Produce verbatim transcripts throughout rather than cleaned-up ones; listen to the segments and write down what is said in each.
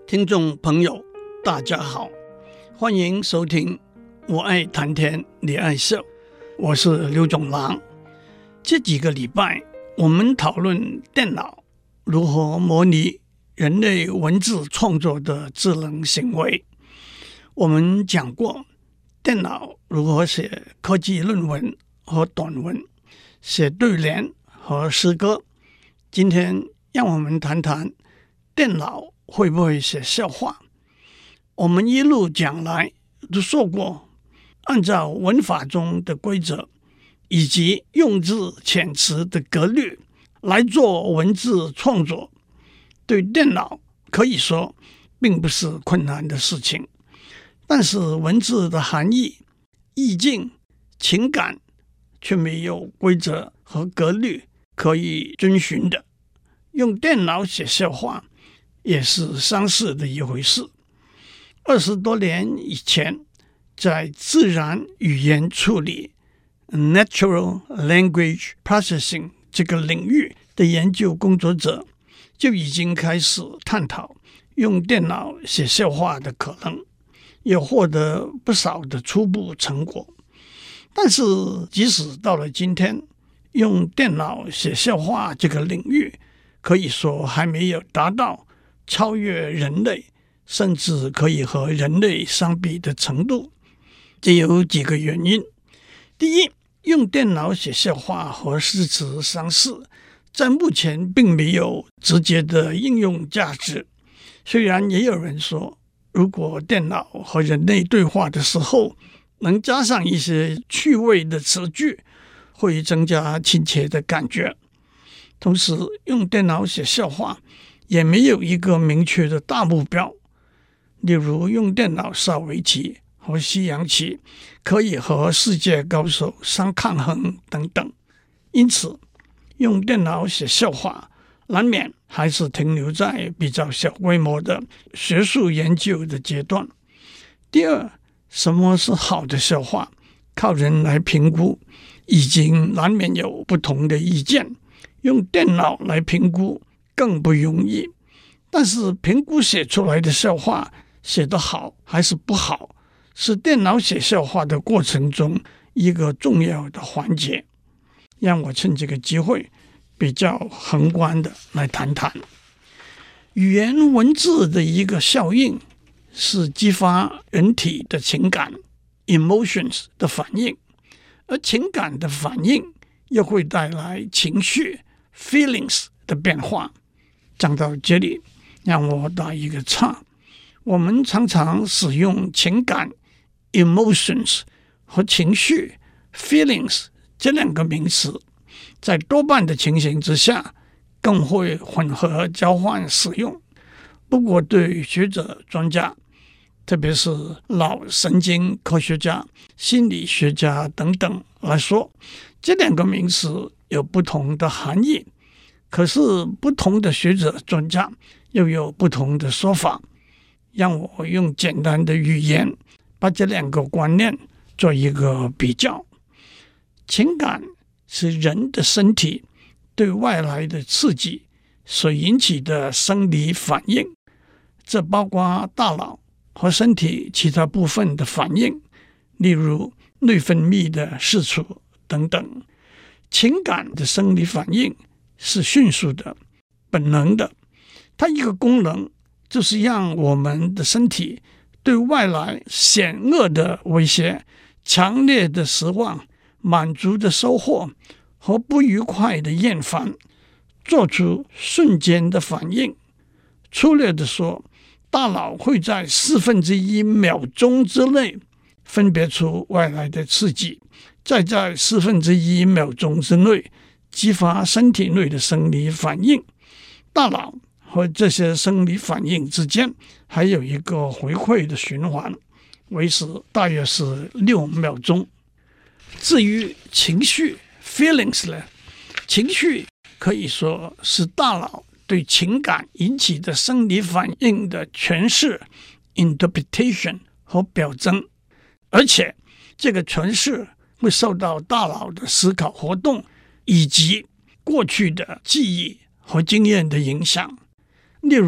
聽眾朋友，大家好，歡迎收聽我愛談天你愛笑，我是劉總郎。這幾個禮拜我們討論電腦如何模擬人類文字創作的智能行為。我們講過電腦如何寫科技論文和短文，寫對聯和詩歌。今天讓我們談談電腦會不會寫笑話。我們一路講來都說過，按照文法中的規則以及用字遣詞的格律來做文字創作，對電腦可以說並不是困難的事情。但是文字的含義、意境、情感卻沒有規則和格律可以遵循的。用電腦寫笑話也是相似的一回事。二十多年以前，在自然語言處理 （Natural Language Processing） 這個領域的研究工作者就已經開始探討用電腦寫笑話的可能，也獲得不少的初步成果。但是，即使到了今天，用電腦寫笑話這個領域，可以說還沒有達到超越人類，甚至可以和人類相比的程度。這有幾個原因。第一，用電腦寫笑話和詩詞相似，在目前並沒有直接的應用價值。雖然也有人說，如果電腦和人類對話的時候能加上一些趣味的詞句，會增加親切的感覺。同時，用電腦寫笑話也沒有一個明確的大目標，例如用電腦下圍棋和西洋棋可以和世界高手相抗衡等等。因此，用電腦寫笑話難免還是停留在比較小規模的學術研究的階段。第二，什麼是好的笑話，靠人來評估，已經難免有不同的意見。用電腦來評估更不容易，但是評估寫出來的笑話寫得好還是不好，是電腦寫笑話的過程中一個重要的環節。讓我趁這個機會比較宏觀的來談談語言文字的一個效應，是激發人體的情感 emotions 的反應，而情感的反應又會帶來情緒feelings 的變化。講到這裡，讓我打一個岔。我們常常使用情感 emotions 和情緒 feelings 這兩個名詞，在多半的情形之下更會混合交換使用。不過對學者專家，特別是腦神經科學家、心理學家等等來說，這兩個名詞有不同的含義，可是不同的學者專家又有不同的說法。讓我用簡單的語言把這兩個觀念做一個比較。情感是人的身體對外來的刺激所引起的生理反應，這包括大腦和身體其他部分的反應，例如內分泌的釋出等等。情感的生理反應是迅速的、本能的，它一個功能就是讓我們的身體對外來險惡的威脅、強烈的失望、滿足的收穫和不愉快的厭煩做出瞬間的反應。粗略地說，大腦會在四分之一秒鐘之內分別出外來的刺激，再在四分之一秒鐘之內激發身體內的生理反應。大腦和這些生理反應之間還有一個回饋的循環，維持大約是六秒鐘。至於情緒 feelings 呢，情緒可以說是大腦對情感引起的生理反應的詮釋 interpretation 和表徵，而且這個詮釋會受到大腦的思考活動以及過去的記憶和經驗的影響。例如，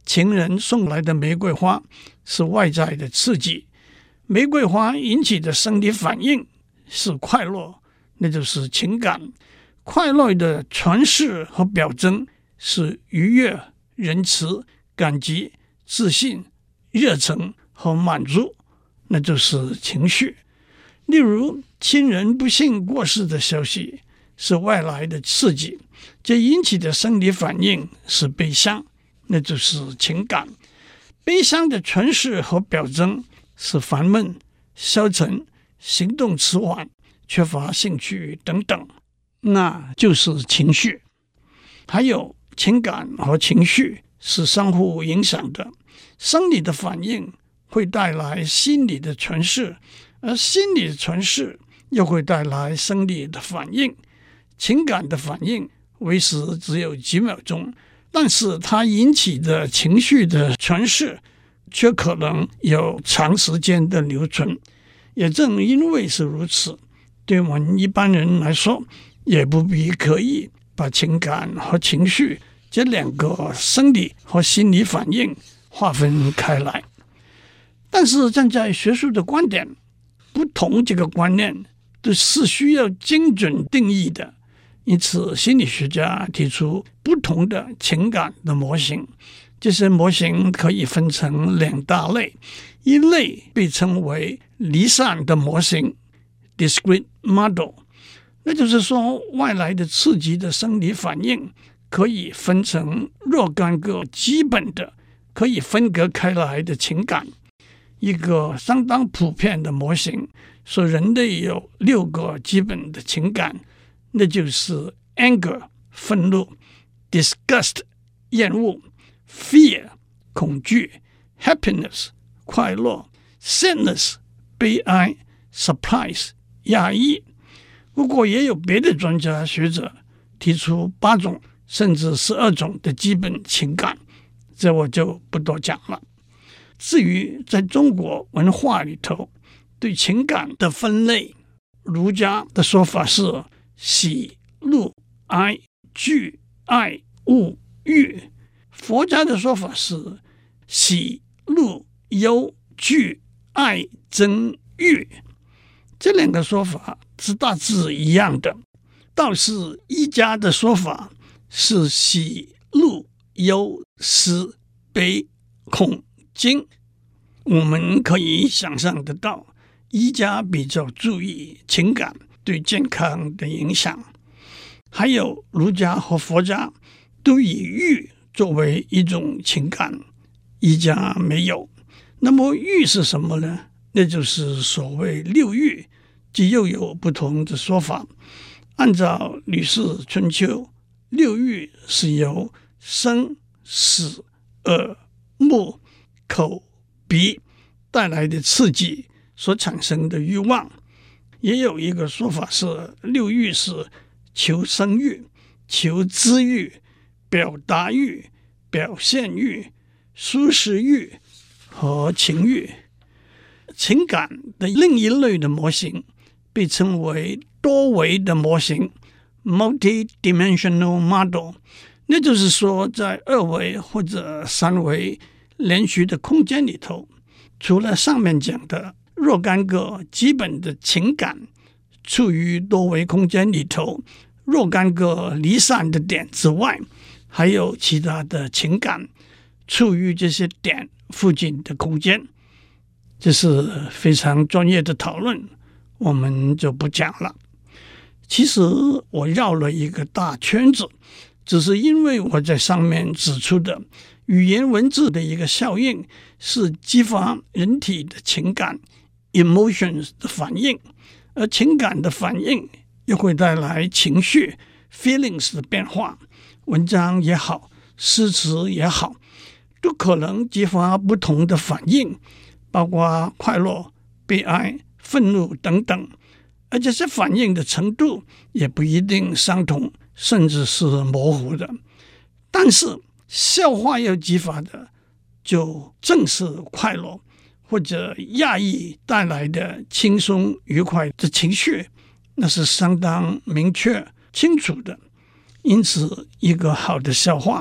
情人送來的玫瑰花是外在的刺激，玫瑰花引起的生理反應是快樂，那就是情感。快樂的詮釋和表徵是愉悅、仁慈、感激、自信、熱忱和滿足，那就是情緒。例如，親人不幸過世的消息是外來的刺激，這引起的生理反應是悲傷，那就是情感。悲傷的詮釋和表徵是煩悶、消沉、行動遲緩、缺乏興趣等等，那就是情緒。還有，情感和情緒是相互影響的，生理的反應會帶來心理的詮釋，而心理的詮釋又會帶來生理的反應。情感的反應維持只有幾秒鐘，但是它引起的情緒的詮釋卻可能有長時間的留存。也正因為是如此，對我們一般人來說，也不必刻意把情感和情緒這兩個生理和心理反應劃分開來。但是站在學術的觀點，不同這個觀念都是需要精準定義的，因此心理學家提出不同的情感的模型。這些模型可以分成兩大類，一類被稱為離散的模型 （discrete model）， 那就是說外來的刺激的生理反應可以分成若干個基本的可以分隔開來的情感。一個相當普遍的模型說人類有六個基本的情感，那就是 anger 憤怒、disgust 厭惡、fear 恐懼、happiness 快樂、sadness 悲哀、surprise 壓抑。不過也有別的專家學者提出八種甚至十二種的基本情感，這我就不多講了。至於在中國文化裡頭對情感的分類，儒家的說法是喜、怒、哀、懼、愛、惡、欲；佛家的說法是喜、怒、憂、懼、愛、憎、欲。這兩個說法是大致一樣的。倒是醫家的說法是喜、怒、憂、思、悲、恐、驚。我們可以想象得到，醫家比較注意情感對健康的影響。還有儒家和佛家都以欲作為一種情感，醫家沒有。那麼欲是什麼呢？那就是所謂六欲，這又有不同的說法。按照《呂氏春秋》，六欲是由生、死、耳、目、口、鼻帶來的刺激所產生的欲望。也有一個說法是，六欲是求生欲、求知欲、表達欲、表現欲、舒適欲和情欲。情感的另一類的模型被稱為多維的模型 （multi-dimensional model）。那就是說，在二維或者三維連續的空間裡頭，除了上面講的若干個基本的情感處於多維空間裡頭若干個離散的點之外，還有其他的情感處於這些點附近的空間。這是非常專業的討論，我們就不講了。其實我繞了一個大圈子，只是因為我在上面指出的語言文字的一個效應是激發人體的情感 emotions 的反應，而情感的反應又會帶來情緒 feelings 的變化。文章也好，詩詞也好，都可能激發不同的反應，包括快樂、悲哀、憤怒等等，而這些反應的程度也不一定相同，甚至是模糊的。但是笑話要激發的，就正是快樂或者壓抑帶來的輕鬆愉快的情緒，那是相當明確清楚的。因此，一個好的笑話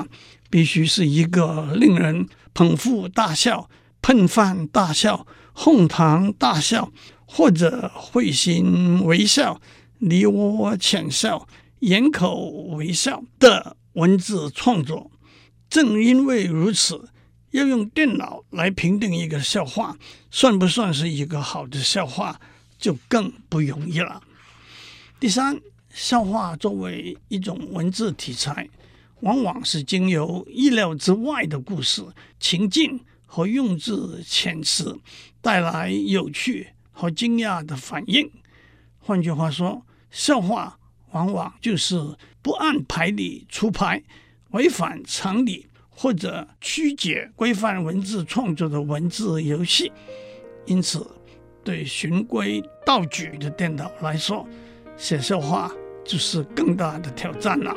必須是一個令人捧腹大笑、噴飯大笑、哄堂大笑，或者會心微笑、梨渦淺笑、掩口微笑的文字創作。正因為如此，要用電腦來評定一個笑話算不算是一個好的笑話，就更不容易了。第三，笑話作為一種文字題材，往往是經由意料之外的故事、情境和用字遣詞帶來有趣和驚訝的反應。換句話說，笑話往往就是不按牌理出牌、違反常理或者曲解規範文字創作的文字遊戲。因此，對循規蹈矩的電腦來說，寫笑話就是更大的挑戰了。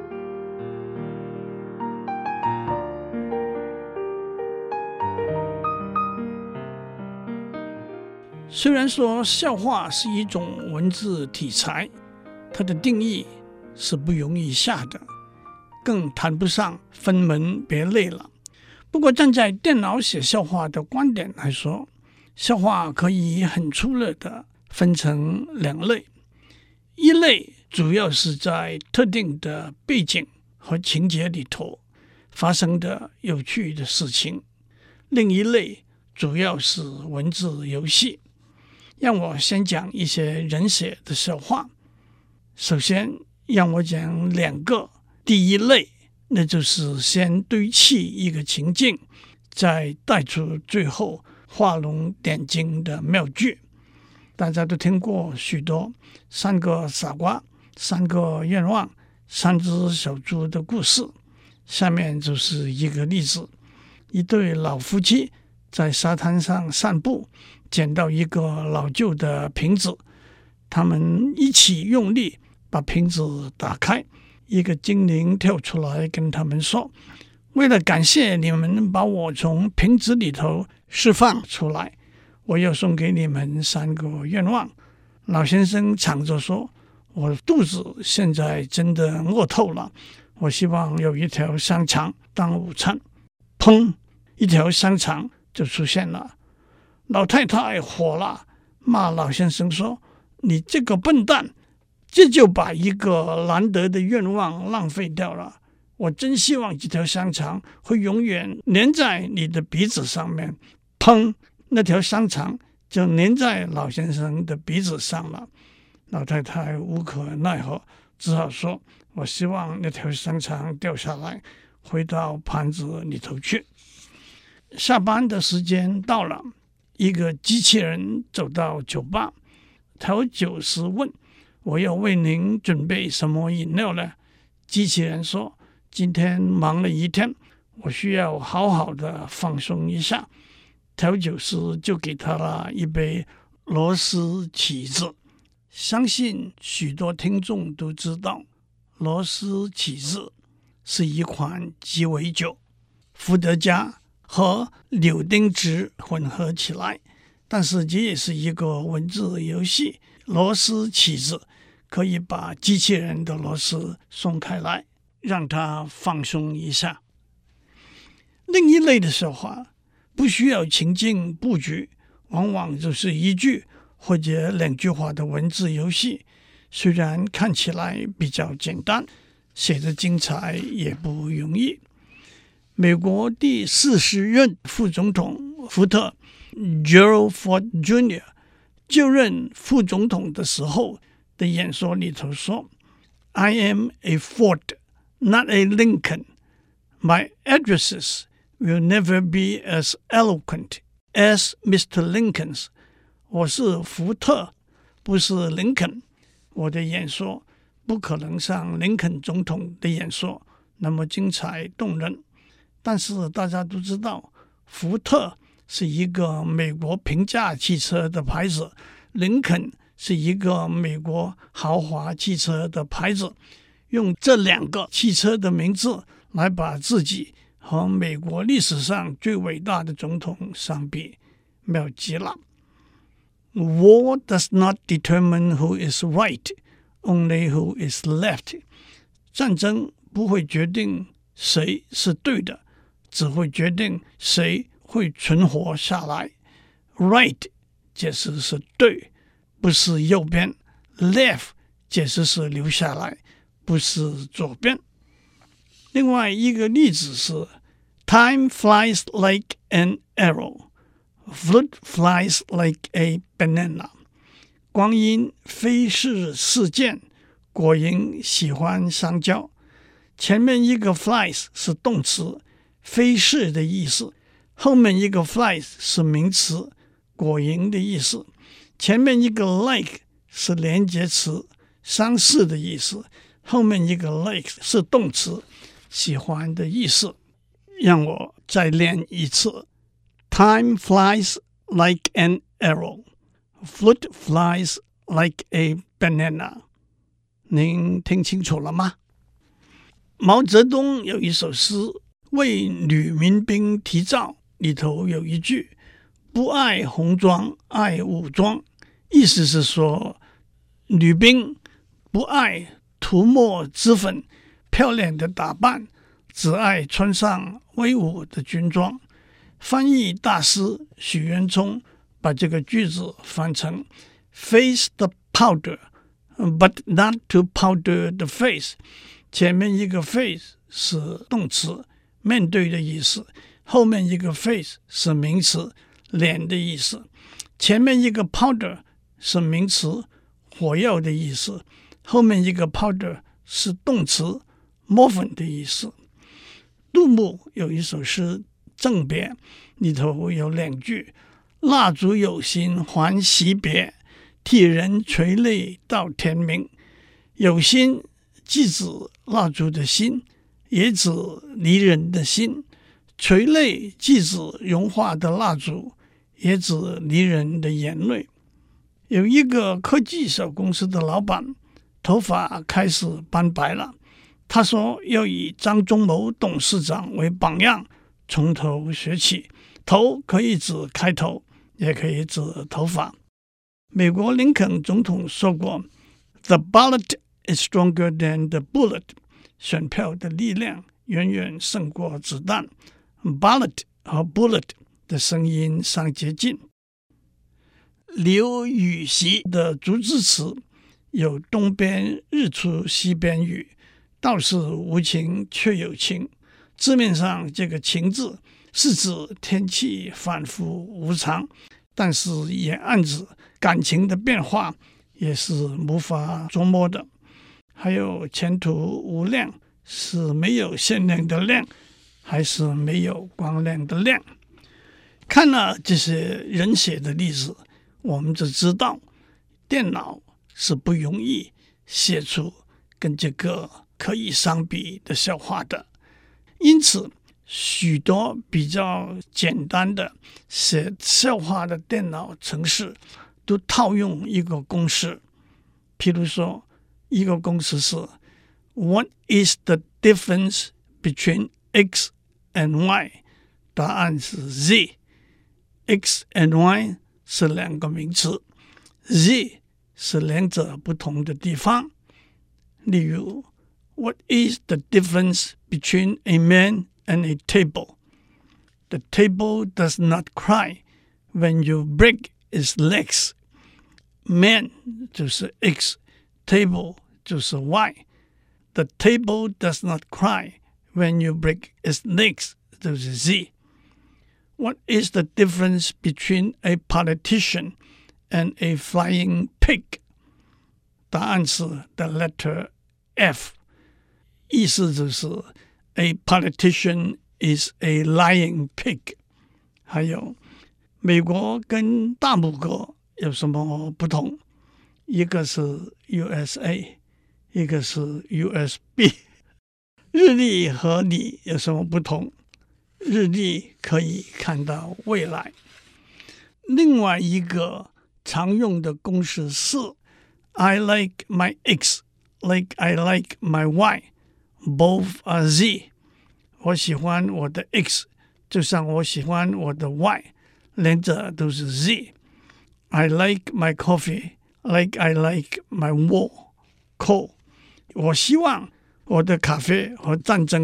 雖然說笑話是一種文字題材，它的定義是不容易下的，更談不上分門別類了。不過站在電腦寫笑話的觀點來說，笑話可以很粗略地分成兩類。一類主要是在特定的背景和情節裡頭發生的有趣的事情，另一類主要是文字遊戲。讓我先講一些人寫的笑話。首先讓我講兩個。第一類，那就是先堆砌一個情境，再帶出最後畫龍點睛的妙句。大家都聽過許多三個傻瓜、三個願望、三隻小豬的故事。下面就是一個例子：一對老夫妻在沙灘上散步，撿到一個老舊的瓶子，他們一起用力把瓶子打開。一個精靈跳出來跟他們說：“為了感謝你們把我從瓶子裡頭釋放出來，我要送給你們三個願望。”老先生搶着說：“我肚子現在真的餓透了，我希望有一條香腸當午餐。”砰！一條香腸就出現了。老太太火了，罵老先生說：“你這個笨蛋！這就把一個難得的願望浪費掉了。我真希望這條香腸會永遠粘在你的鼻子上面。”砰！那條香腸就粘在老先生的鼻子上了。老太太無可奈何，只好說：“我希望那條香腸掉下來，回到盤子裡頭去。”下班的時間到了，一個機器人走到酒吧，調酒師問：“我要為您準備什麼飲料呢？”機器人說：“今天忙了一天，我需要好好的放鬆一下。”調酒師就給他了一杯螺絲起子。相信許多聽眾都知道，螺絲起子是一款雞尾酒，伏特加和柳丁汁混合起來，但是這也是一個文字遊戲。螺絲起子可以把機器人的螺絲鬆開來，讓它放鬆一下。另一類的笑話不需要情境布局，往往就是一句或者兩句話的文字遊戲，雖然看起來比較簡單，寫得精彩也不容易。美國第四十任副總統福特 Gerald Ford Junior 就任副總統的時候的演說裡頭說： I am a Ford, not a Lincoln. My addresses will never be as eloquent as Mister Lincoln's. 我是福特，不是林肯。我的演說不可能像林肯總統的演說那麼精彩動人。但是大家都知道，福特是一個美國平價汽車的牌子，林肯是一個美國豪華汽車的牌子。用這兩個汽車的名字來把自己和美國歷史上最偉大的總統相比，妙極了。War does not determine who is right, only who is left. 戰爭不會決定誰是對的，只會決定誰會存活下來。Right 解釋是對，不是右邊。Left 解釋是留下來，不是左邊。另外一個例子是 Time flies like an arrow, fruit flies like a banana。光陰飛逝似箭，果蠅喜歡香蕉。前面一個 flies 是動詞，飛逝的意思；後面一個 flies 是名詞，果蠅的意思。前面一個 like 是連結詞，相似的意思；後面一個 like 是動詞，喜歡的意思。讓我再練一次 ：Time flies like an arrow, fruit flies like a banana。您聽清楚了嗎？毛澤東有一首詩《為女民兵題造》，裡頭有一句“不愛紅裝愛武裝”，意思是說女兵不愛塗抹脂粉、漂亮的打扮，只愛穿上威武的軍裝。翻譯大師許淵沖把這個句子翻成 “Face the powder, but not to powder the face”。前面一個 face 是動詞，面對的意思；後面一個 face 是名詞，臉的意思。前面一個 powder 是名詞，火藥的意思；後面一個 powder 是動詞，抹粉的意思。杜牧有一首詩《贈別》，裡頭有兩句：“蠟燭有心還惜別，替人垂淚到天明。”有心既指蠟燭的心，也指離人的心；垂淚既指融化的蠟燭，也指離人的眼淚。有一個科技小公司的老闆，頭髮開始斑白了。他說要以張忠謀董事長為榜樣，從頭學起。頭可以指開頭，也可以指頭髮。美國林肯總統說過 ：“The ballot is stronger than the bullet。”選票的力量遠遠勝過子彈。Ballot 和 bullet 的聲音相接近。劉禹錫的竹枝詞有東邊日出西邊雨，道是無晴卻有晴。字面上這個晴字是指天氣反覆無常，但是也暗指感情的變化也是無法捉摸的。還有前途無量，是沒有限量的量，還是沒有光亮的亮？看了這些人寫的例子，我們就知道電腦是不容易寫出跟這個可以相比的笑話的。因此許多比較簡單的寫笑話的電腦程式都套用一個公式，譬如說一個公式是 What is the difference between X and Y？ 答案是 Z。X and Y 是兩個名詞， Z 是兩者不同的地方。例如 What is the difference between a man and a table? The table does not cry when you break its legs. Man 就是 X，Table 就是 Y。The table does not cry when you break its legs 就是 Z。What is the difference between a politician and a flying pig? 答案是 the letter F。意思就是 a politician is a lying pig。還有美國跟大拇哥有什麼不同？一個是 U S A， 一個是 U S B。 日曆和你有什麼不同？日曆可以看到未來。另外一個常用的公式是 I like my X like I like my Y, both are Z。 我喜歡我的 X 就像我喜歡我的 Y， 兩者都是 Z。I like my coffee like I like my war, coal。 我希望我的咖啡和戰爭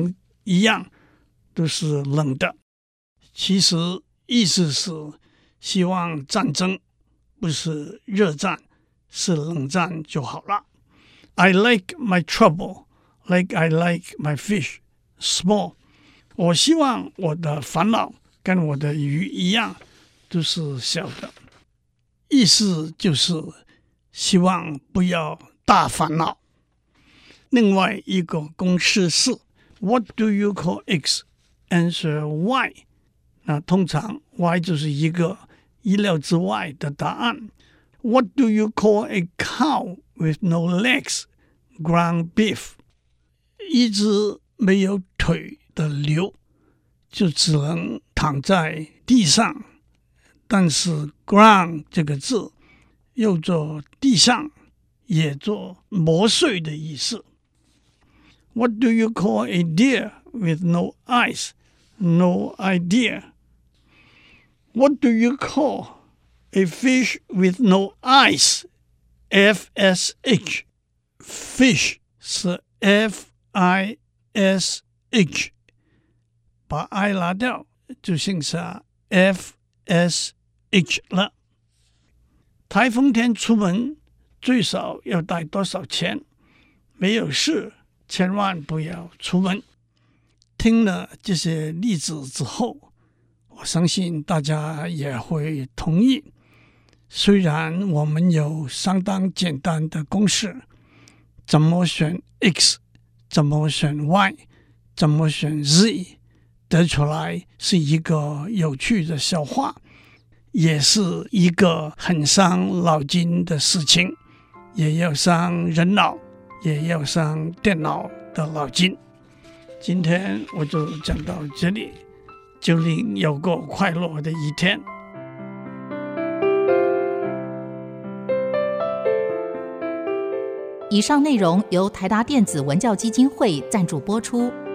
一樣都是冷的。其實意思是希望戰爭不是熱戰，是冷戰就好了。I like my trouble like I like my fish small。 我希望我的煩惱跟我的魚一樣都是小的。意思就是希望不要大煩惱。另外一個公式是 What do you call X? Answer Y。 那通常 Y 就是一個意料之外的答案。 What do you call a cow with no legs? Ground beef。 一隻沒有腿的牛就只能躺在地上，但是 ground 這個字又做地上也做磨碎的意思。 What do you call a deer with no eyes? No idea。 What do you call a fish with no eyes? F S H。 Fish 是 F I S H， 把 I 拿掉就剩下 F S H 了。颱風天出門最少要帶多少錢？沒有事千萬不要出門。聽了這些例子之後，我相信大家也會同意，雖然我們有相當簡單的公式，怎麼選 X， 怎麼選 Y， 怎麼選 Z， 得出來是一個有趣的笑話，也是一個很傷腦筋的事情，也要傷人腦，也要傷電腦的腦筋。今天我就講到這裡，祝您有個快樂的一天。 以上內容由台達電子文教基金會贊助播出。